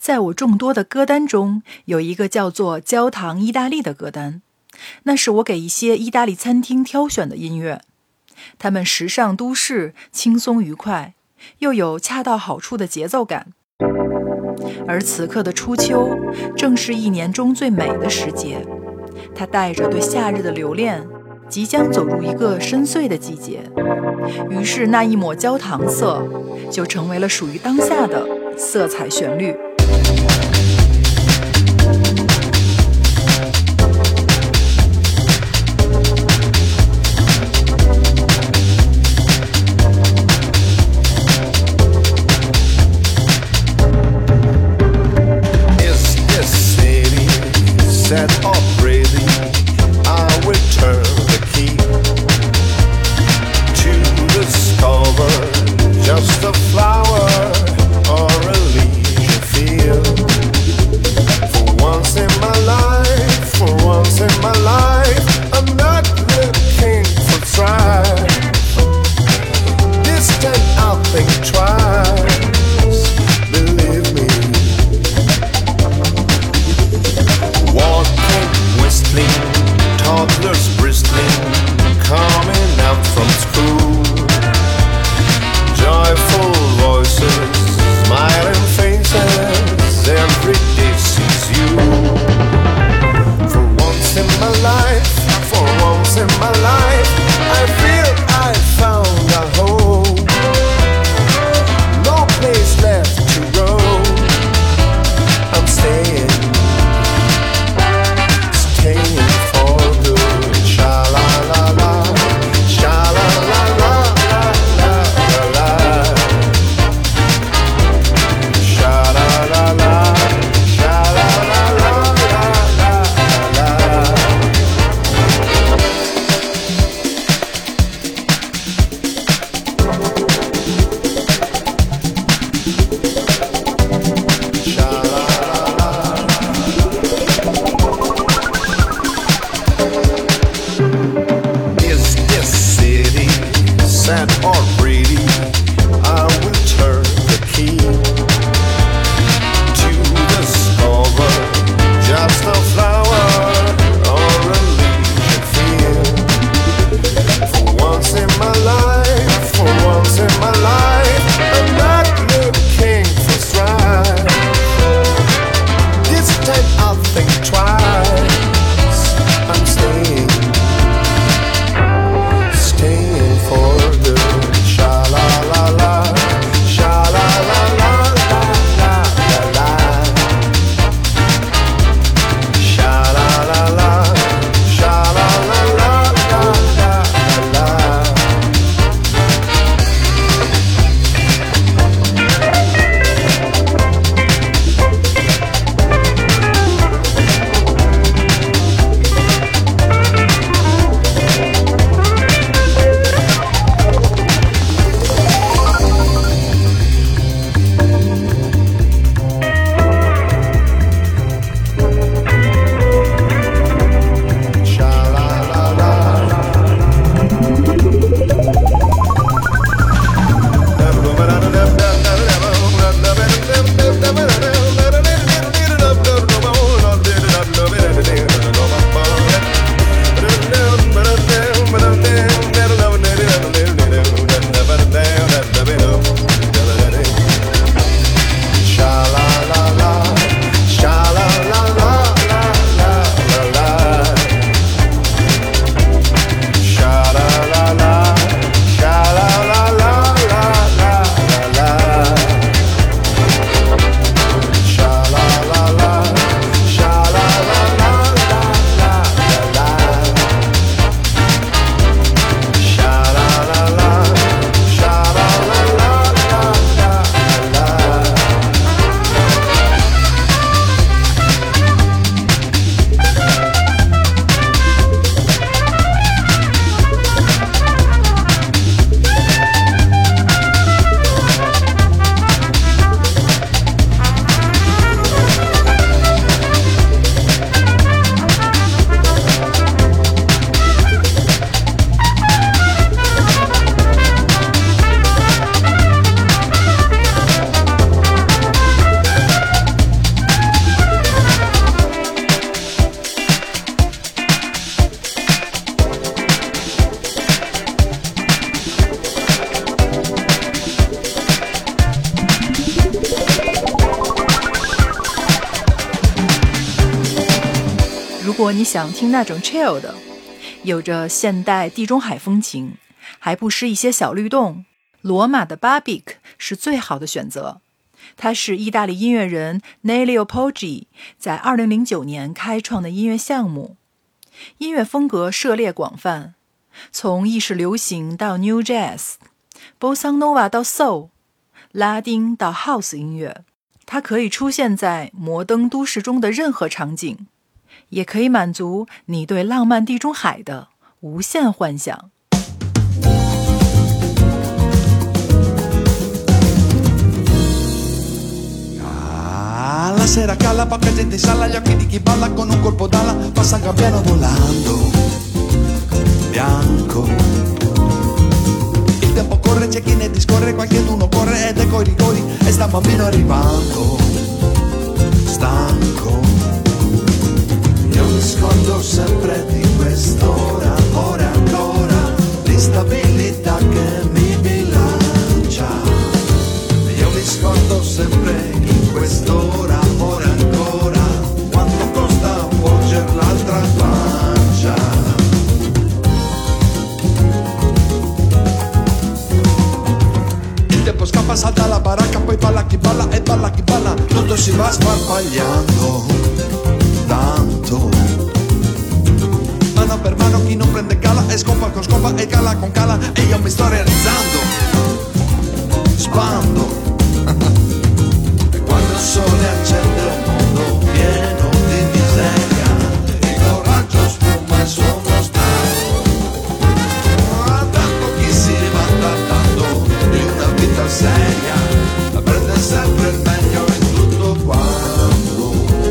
在我众多的歌单中，有一个叫做焦糖意大利的歌单，那是我给一些意大利餐厅挑选的音乐。他们时尚都市，轻松愉快，又有恰到好处的节奏感。而此刻的初秋，正是一年中最美的时节，它带着对夏日的留恋，即将走入一个深邃的季节。于是那一抹焦糖色，就成为了属于当下的色彩旋律。 果你想听那种 chill 的，有着现代地中海风情，还不失一些小律动，罗马的 Barbik 是最好的选择。它是意大利音乐人 Nelio Poggi 在2009年开创的音乐项目，音乐风格涉猎广泛，从意式流行到 New Jazz、Bossa Nova 到 Soul、拉丁到 House 音乐，它可以出现在摩登都市中的任何场景，也可以满足你对浪漫地中海的无限幻想。 La sera cala, poca gente in sala, gli occhi di chi balla con un colpo d'ala, passa un gabbiano volando, bianco. Il tempo corre, c'è chi ne discorre, qualcheduno corre ed ecco i rigori, e sta un bambino arrivando, stanco. Io mi scordo sempre di quest'ora, ora ancora, l'instabilità che mi bilancia. Io mi scordo sempre in quest'ora, ora ancora, quanto costa volgere l'altra pancia. Il tempo scappa, salta la baracca, poi balla chi balla e balla chi balla, tutto si va sparpagliando, tanto. Mano per mano chi non prende cala e scopa con scopa e cala con cala, e io mi sto realizzando, spando. Quando il sole accende un mondo pieno di miseria, il coraggio sfuma e sono stanco. Tanto chi si vanta tanto di una vita seria, prende sempre il meglio in tutto quanto.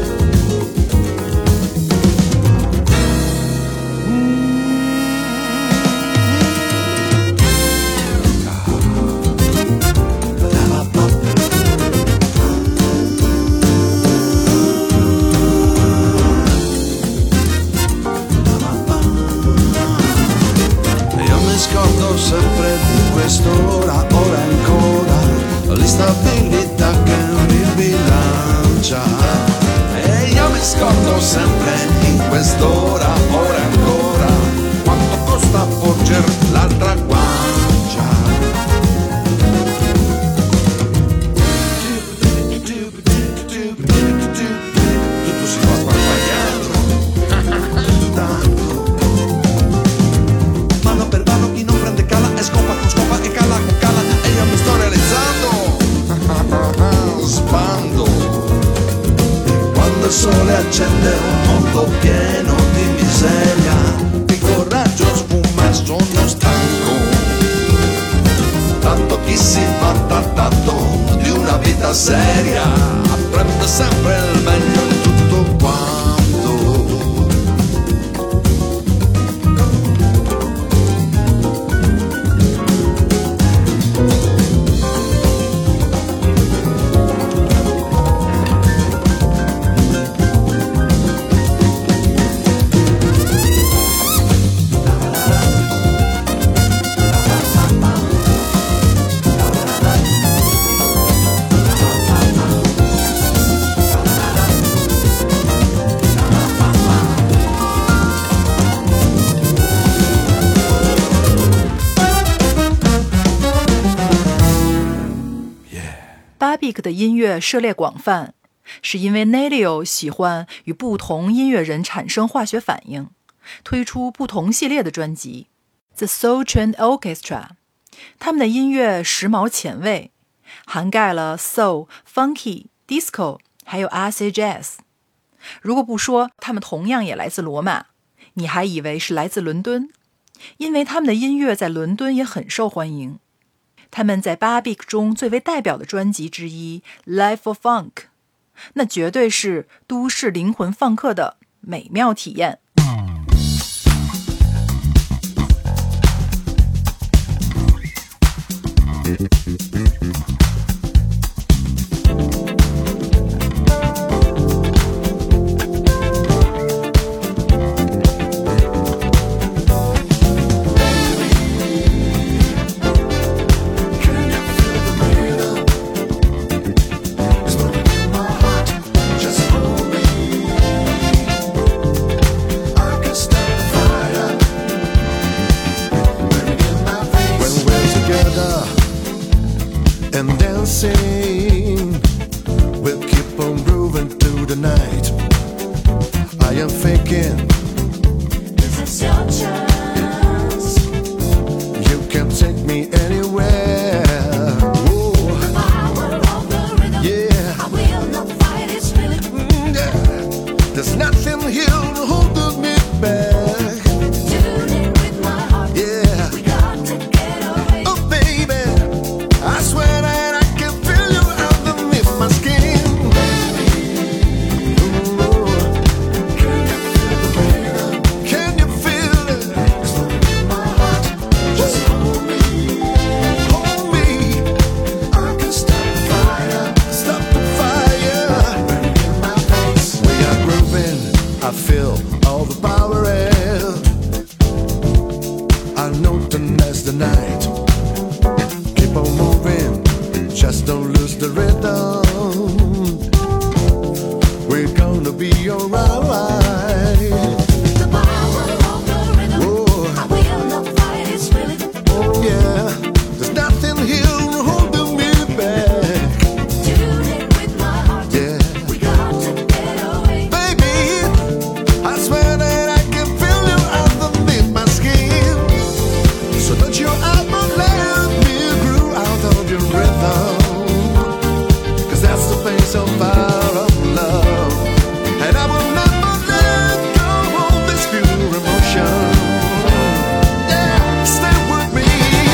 Scordo sempre di quest'ora, ora ancora, l'instabilità che mi bilancia. E io mi scordo sempre in quest'ora, ora ancora, quanto costa porger l'altra guancia. Tutto si va sparpagliando, tanto. Mano per mano chi non prende cala e scopa con scopa e cala con cala, e io mi sto realizzando, spando. E quando il sole accende un mondo pieno di miseria, il coraggio sfuma e sono stanco. Tanto chi si vanta tanto di una vita seria, prende sempre il meglio in tutto quanto. Barbik 的音乐涉猎广泛，是因为 Nelio 喜欢与不同音乐人产生化学反应，推出不同系列的专辑 The Soul Train Orchestra。 他们的音乐时髦前卫，涵盖了 Soul、Funky、Disco 还有 Acid Jazz。 如果不说他们同样也来自罗马，你还以为是来自伦敦，因为他们的音乐在伦敦也很受欢迎。他们在 Barbik 中最为代表的专辑之一 Life of Funk， 那绝对是都市灵魂放克的美妙体验。 the power is. I know tonight's the night. Keep on moving, just don't lose the rhythm. We're gonna be alright. The power of the rhythm. Oh. I will not fight its rhythm. Oh yeah, there's nothing here holding me back. Tune in with my heart. Yeah, We got to get away. baby, I swear that I can feel you underneath my skin. So don't you ever let me groove out of your rhythm. 'Cause that's the face of power of love. And I will never let go of this pure emotion. Yeah, stay with me.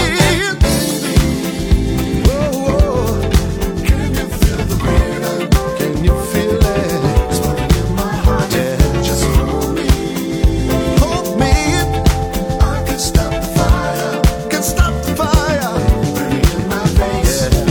Oh, oh. Can you feel the rhythm? Can you feel it? It's running in my heart. Yeah, just hold me. Hold me. I can stop the fire. Can stop the fire. Burning in my face. Yeah.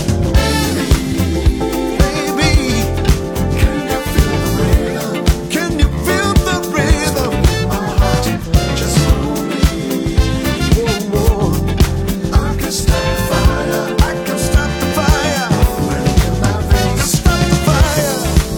Baby, can you feel the rhythm? Can you feel the rhythm? My heart, just hold me. Whoa, whoa. I can stop the fire. I can stop the fire. Burning in my face. Can stop the fire.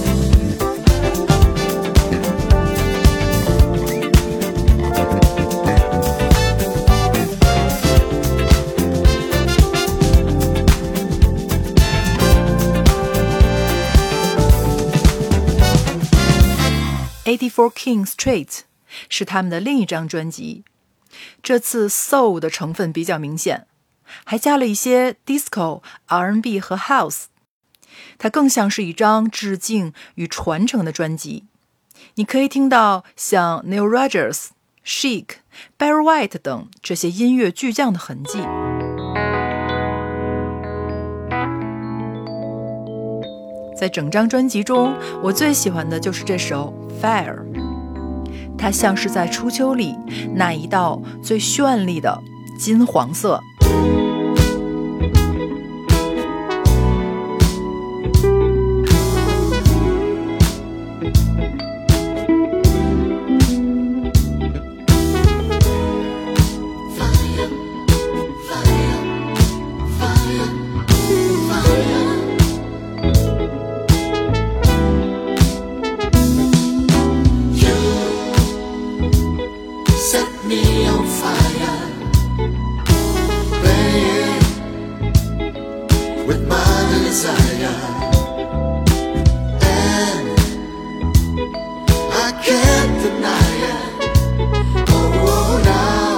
"84 King Street" 是他们的另一张专辑，这次 soul 的成分比较明显，还加了一些 disco、R&B 和 house， 它更像是一张致敬与传承的专辑。你可以听到像 Neil Rogers、Chic、Barry White 等这些音乐巨匠的痕迹。在整张专辑中，我最喜欢的就是这首 Fire， 它像是在初秋里那一道最绚丽的金黄色。 Set me on fire, playing with my desire, and I can't deny it. Oh, now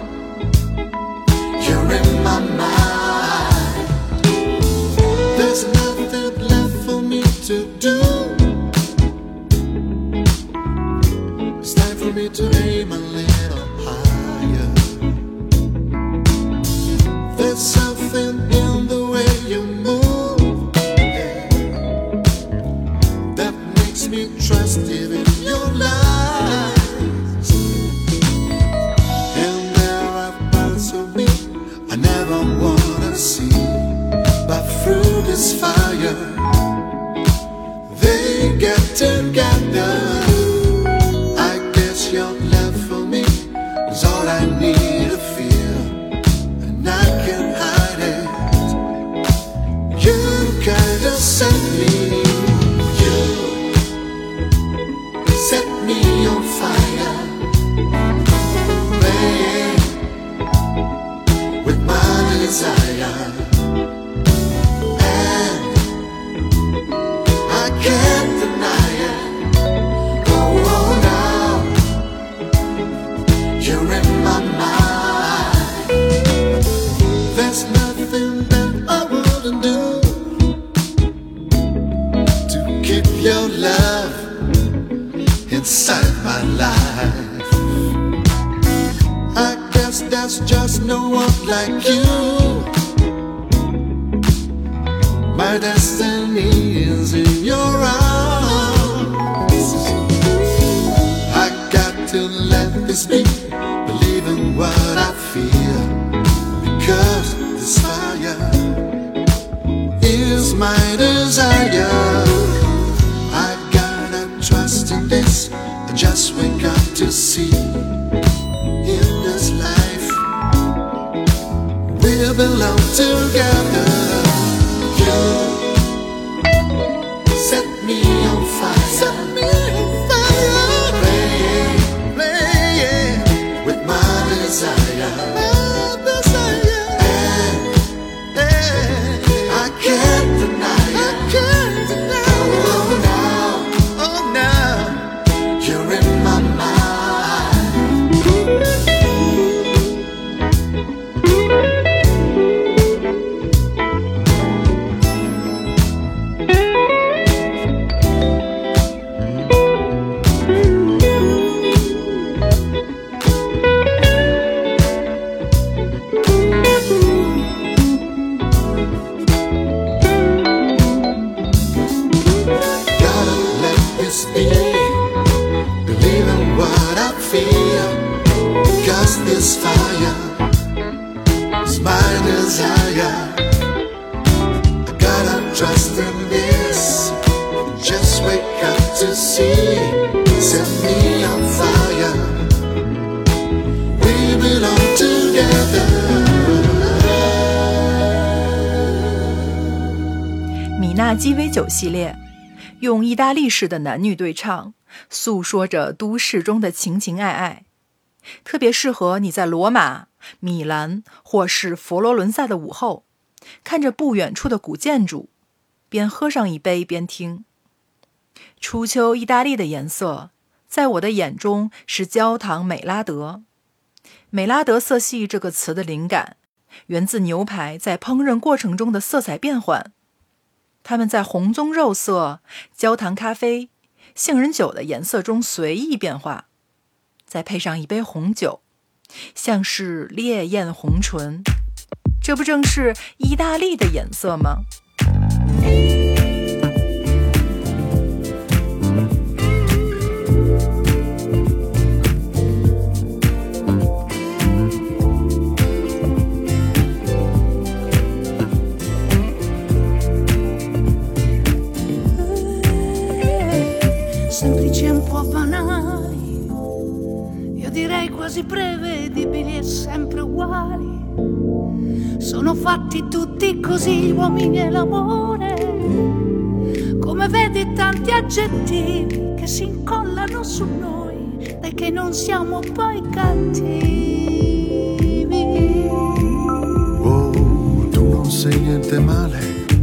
you're in my mind. There's nothing left for me to do. It's time for me to aim a little higher. There's something in the way you move, yeah, that makes me trust even your lies. And there are parts of me I never wanna see, but through this fire they get together. Your love for me is all I need to feel, and I can't hide it. You kinda set me, you set me on fire, playing with my desire, and I can't deny it. You're in my mind. There's nothing that I wouldn't do to keep your love inside my life. I guess there's just no one like you. My destiny is in your arms. I got to let this be, believe in what I feel, because this fire is my desire. I gotta trust in this and just wake up to to see in this life. We belong together. You set me on fire. Set me on fire. Playing with my desire. My desire. And I can't deny it. I can't deny it. Oh now, you're in my mind. Gotta let this be. Believe in what I feel. Cause this fire is my desire. I gotta trust in this. Just wake up to see. Set me on fire. We belong together. 米娜鸡尾酒系列，用意大利式的男女对唱，诉说着都市中的情情爱爱，特别适合你在罗马、米兰或是佛罗伦萨的午后，看着不远处的古建筑，边喝上一杯边听。初秋意大利的颜色，在我的眼中是焦糖美拉德。美拉德色系这个词的灵感，源自牛排在烹饪过程中的色彩变换。它们在红棕肉色、焦糖咖啡、杏仁酒的颜色中随意变化，再配上一杯红酒，像是烈焰红唇，这不正是意大利的颜色吗？ Semplici e un po' banali, io direi quasi prevedibili e sempre uguali. Sono fatti tutti così gli uomini e l'amore, come vedi tanti aggettivi che si incollano su noi, dai che non siamo poi cattivi. Oh, tu non sei niente male,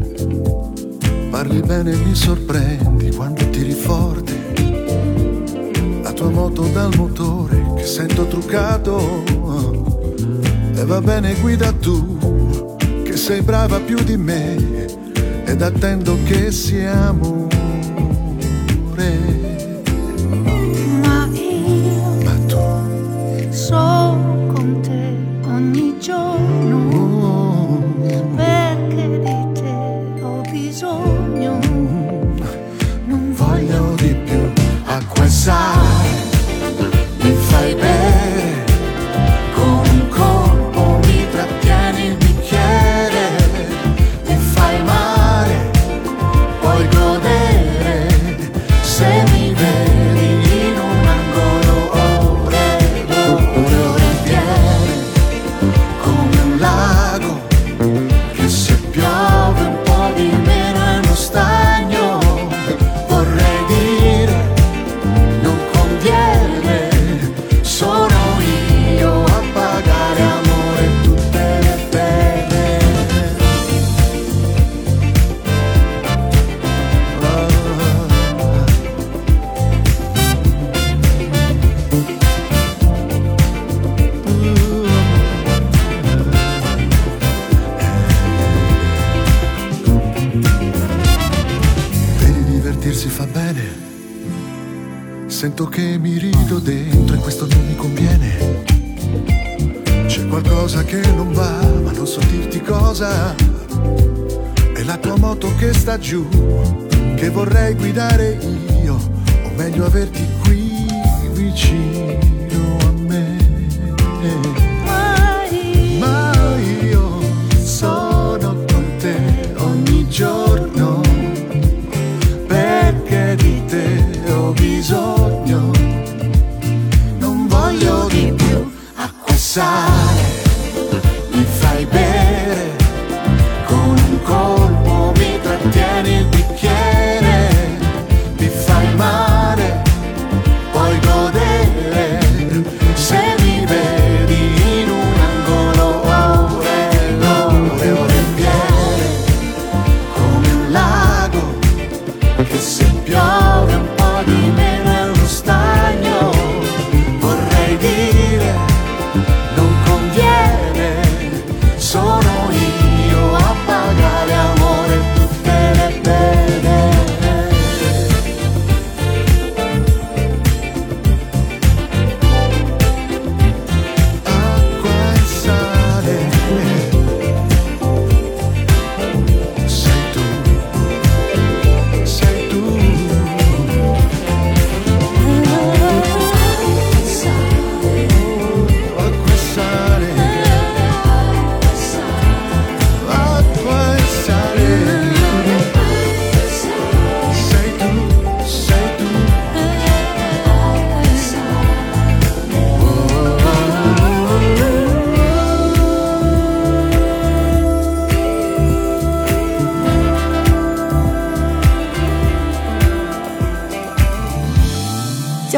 parli bene e mi sorprendi quando tiri forte la tua moto dal motore che sento truccato. E va bene, guida tu, che sei brava più di me, ed attendo che sia amore. Ma io Ma tu, sono con te ogni giorno, oh, perché di te ho bisogno. Non voglio di più acqua e sale, mi fai bere con un colpo, mi trattieni il bicchiere, mi fai male, puoi godere, se mi vedi in un angolo ore, ore intiere, come un lago, che se piove un po' di meno è uno stagno, vorrei dire, non conviene, sono io a pagare amore tutte le pene. Vedi, divertirsi fa bene, sento che mi rido dentro e questo non mi conviene. C'è qualcosa che non va, ma non so dirti cosa. È la tua moto che sta giù, che vorrei guidare io, o meglio averti qui vicino a me. Ma io sono con te ogni giorno, perché di te ho bisogno.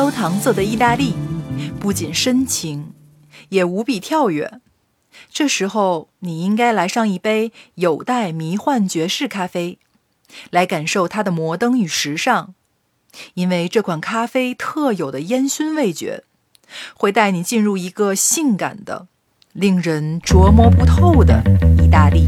焦糖色的意大利，不仅深情，也无比跳跃。这时候，你应该来上一杯有待迷幻爵士咖啡，来感受它的摩登与时尚。因为这款咖啡特有的烟熏味觉，会带你进入一个性感的、令人琢磨不透的意大利。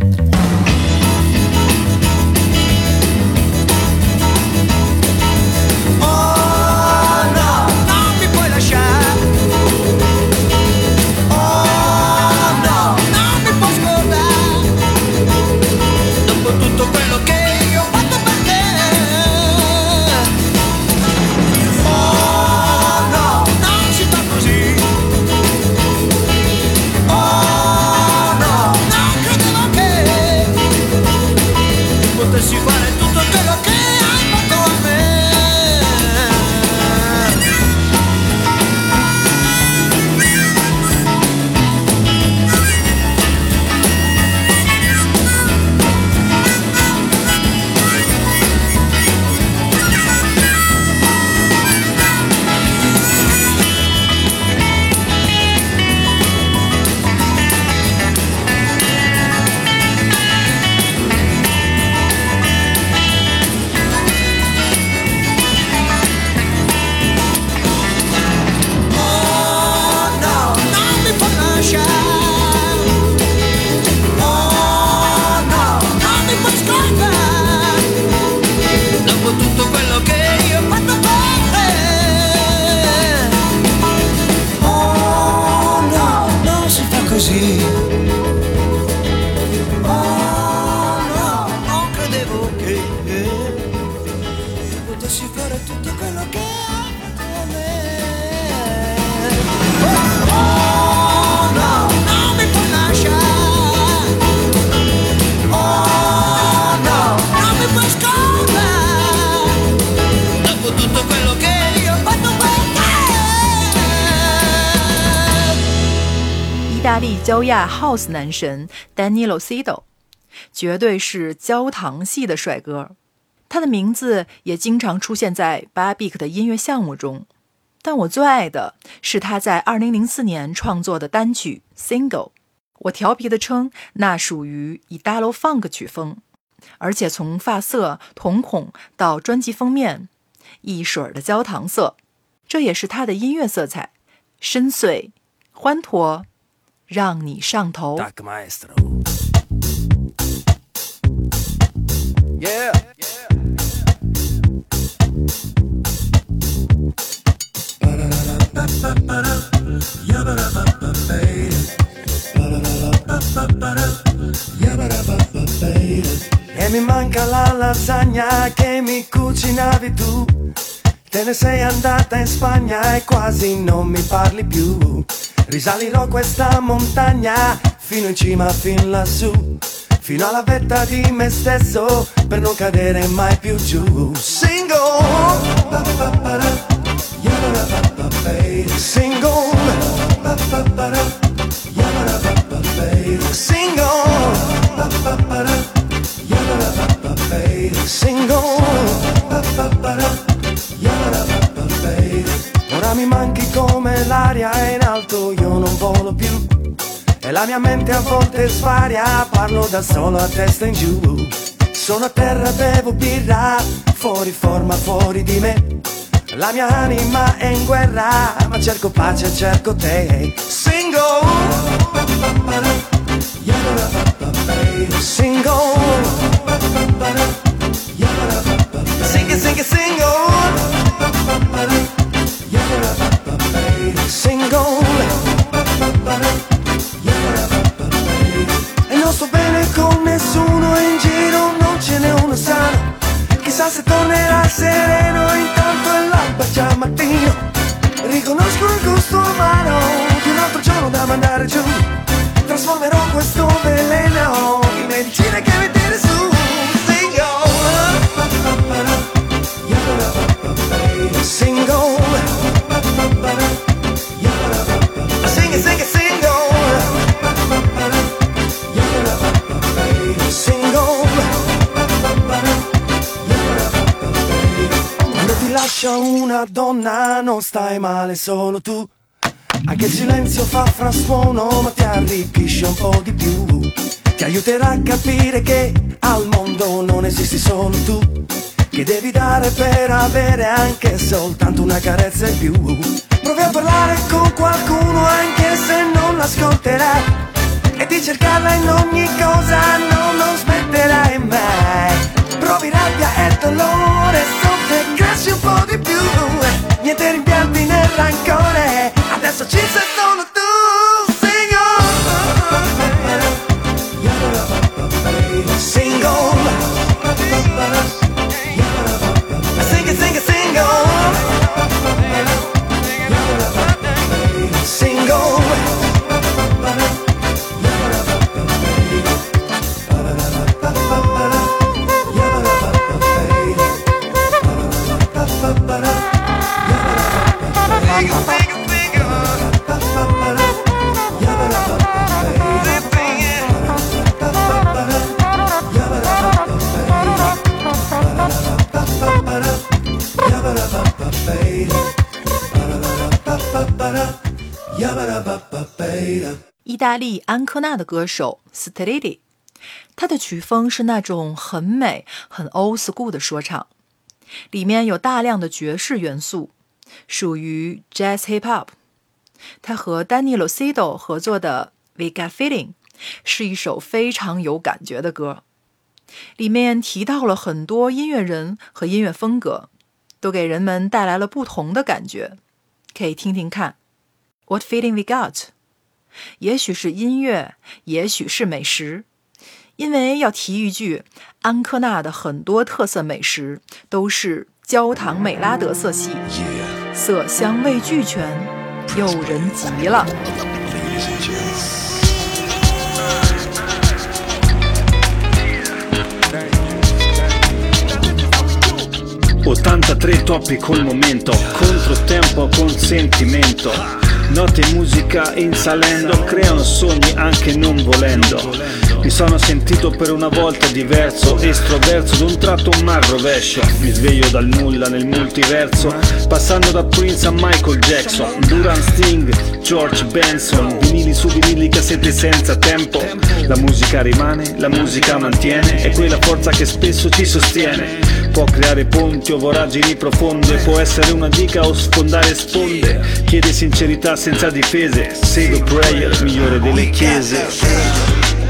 意大利焦亚 House 男神 Danilo Cido 绝对是焦糖系的帅哥，他的名字也经常出现在 Barbik 的音乐项目中，但我最爱的是他在2004年创作的单曲 Single， 我调皮地称那属于 Italo Funk 曲风，而且从发色、瞳孔到专辑封面，一水儿的焦糖色，这也是他的音乐色彩，深邃、欢脱，让你上头。 Tac maestro. Yeah. E mi manca la lasagna che mi cucinavi tu. Te ne sei andata in Spagna e quasi non mi parli più. Risalirò questa montagna fino in cima, fin lassù, fino alla vetta di me stesso per non cadere mai più giù. Single, single, single, ora mi manchi come l'aria in alto, io non volo più e la mia mente a volte svaria, parlo da solo a testa in giù. Sono a terra, bevo birra, fuori forma, fuori di me. La mia anima è in guerra, ma cerco pace, cerco te. Single, single, sing it, single, single. E non sto bene con nessuno in giro, non ce n'è uno sano. Chissà se tornerà sereno, intanto è l'alba già mattino. Riconosco il gusto amaro di un altro giorno da mandare giù. Trasformerò questo veleno in medicina che mi tira su. Single, sing it, sing it, single, single. Quando ti lascia una donna non stai male solo tu. Anche il silenzio fa frastuono ma ti arricchisce un po' di più. Ti aiuterà a capire che al mondo non esisti solo tu, che devi dare per avere anche soltanto una carezza in più. Provi a parlare con qualcuno anche se non l'ascolterai, e di cercarla in ogni cosa non smetterai mai. Provi rabbia e dolore, soffermarsi un po' di più. Niente rimpianti né rancore, adesso ci sei solo tu. Single, sing it, sing it, single, single. 意大利安科纳的歌手 Stridi， 他的曲风是那种很美很 old school 的说唱，里面有大量的爵士元素，属于 jazz hip hop。他和 Danny Lucido 合作的 We Got Feeling 是一首非常有感觉的歌，里面提到了很多音乐人和音乐风格，都给人们带来了不同的感觉，可以听听看。 What feeling we got？ 也许是音乐，也许是美食，因为要提一句，安科纳的很多特色美食都是焦糖美拉德色系，色香味俱全，诱人极了。 83 topi col momento, controtempo con sentimento. Notte e musica in salendo creano sogni anche non volendo. Mi sono sentito per una volta diverso, estroverso, d'un tratto un mal rovescio. Mi sveglio dal nulla nel multiverso, passando da Prince a Michael Jackson, Duran Sting, George Benson, vinili su vinili, cassette senza tempo. La musica rimane, la musica mantiene, è quella forza che spesso ci sostiene. Può creare ponti o voragini profonde, può essere una dica o sfondare sponde. Chiede sincerità senza difese, Save a Prayer, migliore delle chiese.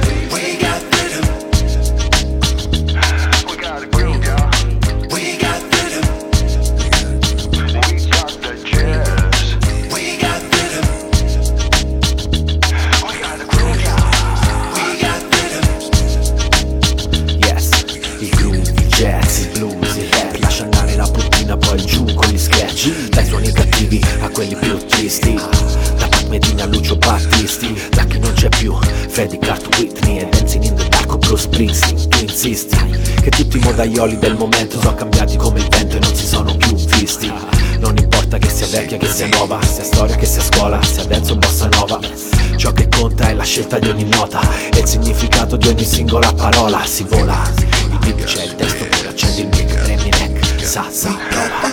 Dai suoni cattivi a quelli più tristi, da Pat Metheny a Lucio Battisti, da chi non c'è più Freddie Cart, Whitney e Dancing in the Dark o Bruce Springsteen. Tu insisti che tutti i modaioli del momento sono cambiati come il vento e non si sono più visti. Non importa che sia vecchia, che sia nuova, sia storia, che sia scuola, sia dance o bossa nova. Ciò che conta è la scelta di ogni nota e il significato di ogni singola parola. Si vola, il beat c'è, il testo pure, accendi il mic, premi neck, sa, prova.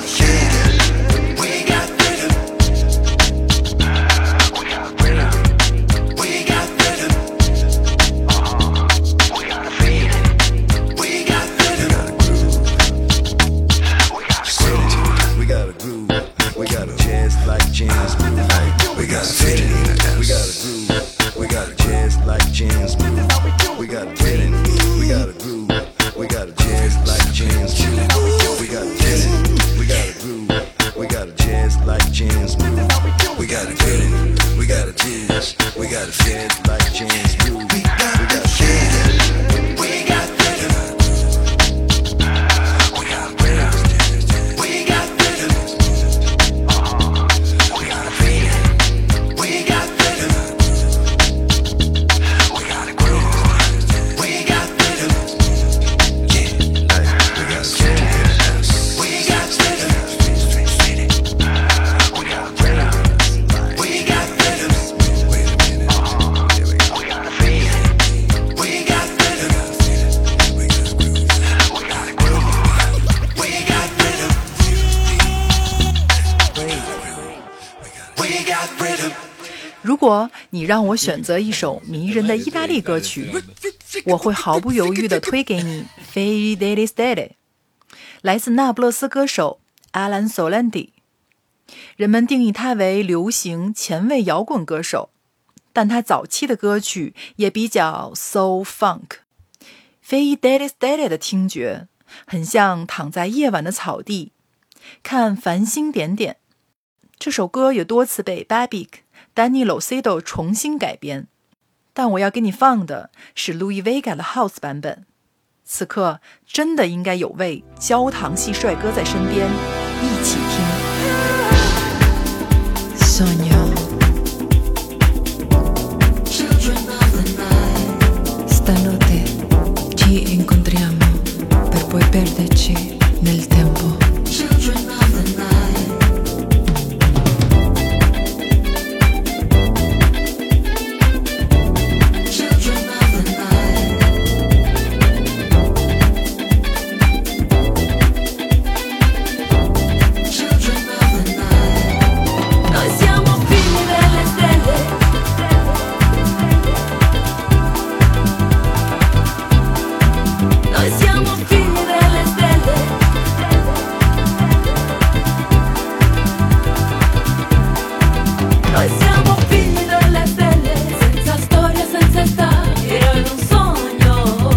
We got a jazz like jams. We got a jazz. 如果你让我选择一首迷人的意大利歌曲，我会毫不犹豫地推给你 Fede delle Stelle， 来自那不勒斯歌手 Alan Solandi。 人们定义他为流行前卫摇滚歌手，但他早期的歌曲也比较 soul funk。Fede delle Stelle 的听觉很像躺在夜晚的草地，看繁星点点。这首歌也多次被 Babic、Danny Locedo 重新改编，但我要给你放的是 Louis Vega 的 House 版本。此刻真的应该有位焦糖系帅哥在身边，一起听。Sogno stanotte ci incontriamo per poi perderci nel tempo. Noi siamo figli delle stelle. Noi siamo figli delle stelle. Noi siamo figli delle stelle, senza storia, senza età, io in un sogno.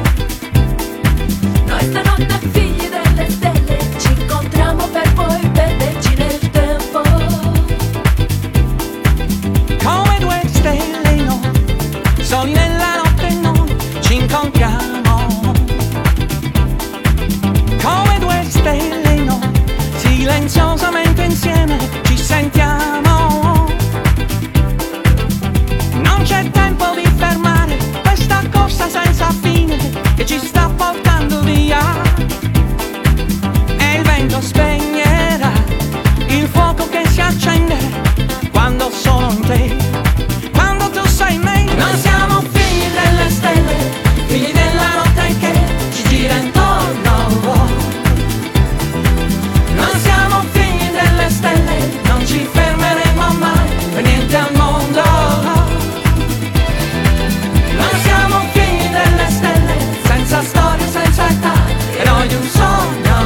Noi stanotte figli delle stelle, ci incontriamo per poi perderci nel tempo. Come due stelle no, soli nella notte noi ci incontriamo. Come due stelle no, silenziosamente insieme ci sentiamo. Non c'è tempo di fermare questa corsa senza fine che ci sta portando via. E il vento spegnerà il fuoco che si accende quando sono in te, quando tu sei in me. Noi siamo figli delle stelle, figli della notte che ci gira intorno. Noi siamo figli delle stelle, non ci fermeremo mai per niente al mondo. Noi siamo figli delle stelle, senza storia, senza età, e noi di un sogno.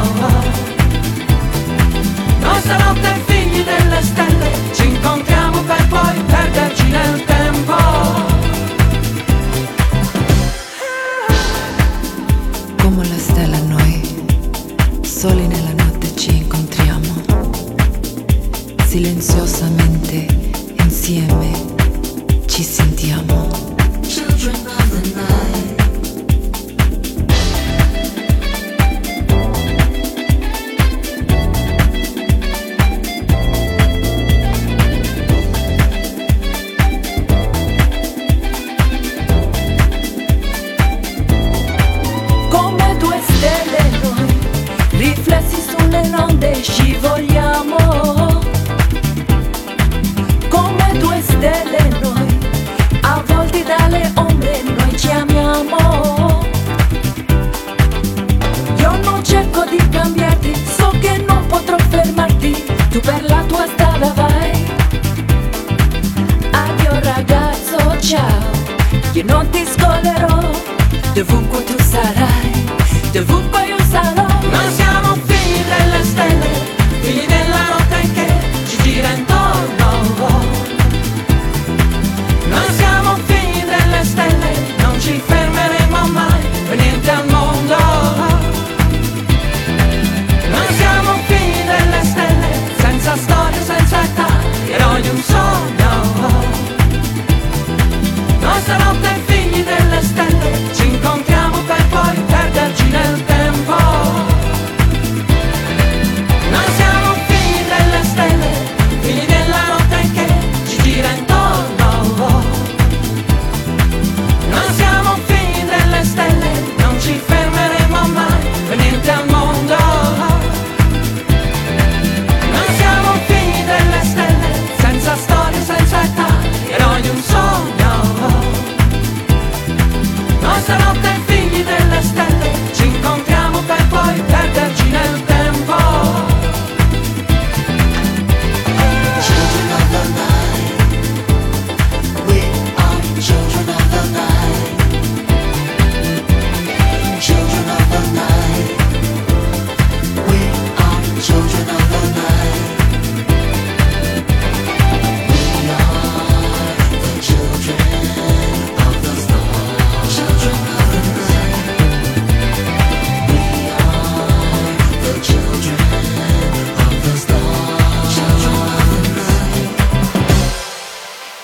Noi stanotte figli delle stelle, ci incontriamo per poi perderci nel tempo. Come la stella noi, soli nella notte ci incontriamo, silenziosamente insieme ci sentiamo. Children of the night. Come due stelle noi, riflessi sulle onde scivoliamo. Come due stelle noi, avvolti dalle ombre noi ci amiamo. Io non cerco di cambiarti, so che non potrò fermarti, tu per la tua strada vai. Addio ragazzo, ciao, io non ti scollerò, dovunque tu sarai, dovunque io sarò. Noi siamo figli delle stelle, figli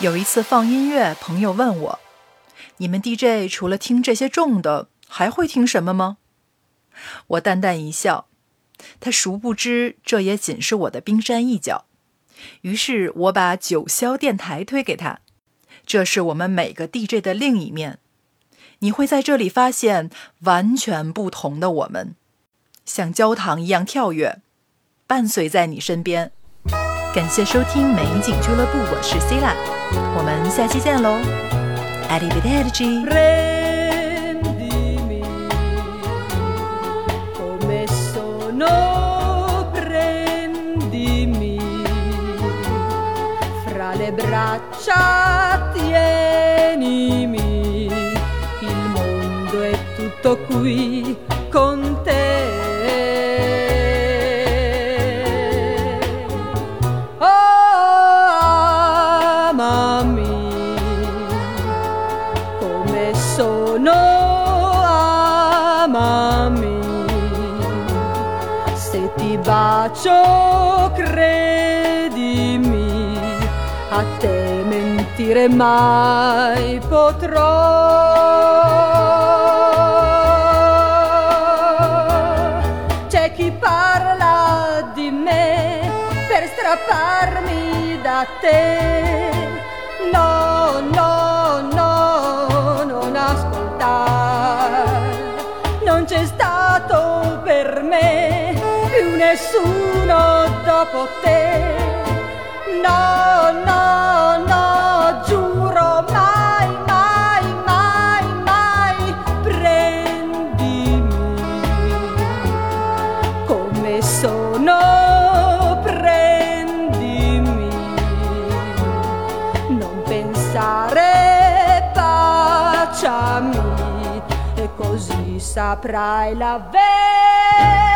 有一次放音乐，朋友问我，你们 DJ 除了听这些重的，还会听什么吗？我淡淡一笑，他殊不知这也仅是我的冰山一角。于是我把九霄电台推给他，这是我们每个 DJ 的另一面。你会在这里发现完全不同的我们，像焦糖一样跳跃，伴随在你身边。感谢收听美景俱乐部，我是 Sila， 我们下期见喽。Arrivederci。 Prendimi come sono, prendimi fra le braccia, tienimi, il mondo è tutto qui con te. Bacio, credimi, a te mentire mai potrò. C'è chi parla di me per strapparmi da te. No, no, no, non ascoltare. Non c'è stato per me nessuno dopo te. No, no, no, giuro, mai, mai, mai, mai. Prendimi come sono, prendimi. Non pensare, baciami, e così saprai la verità.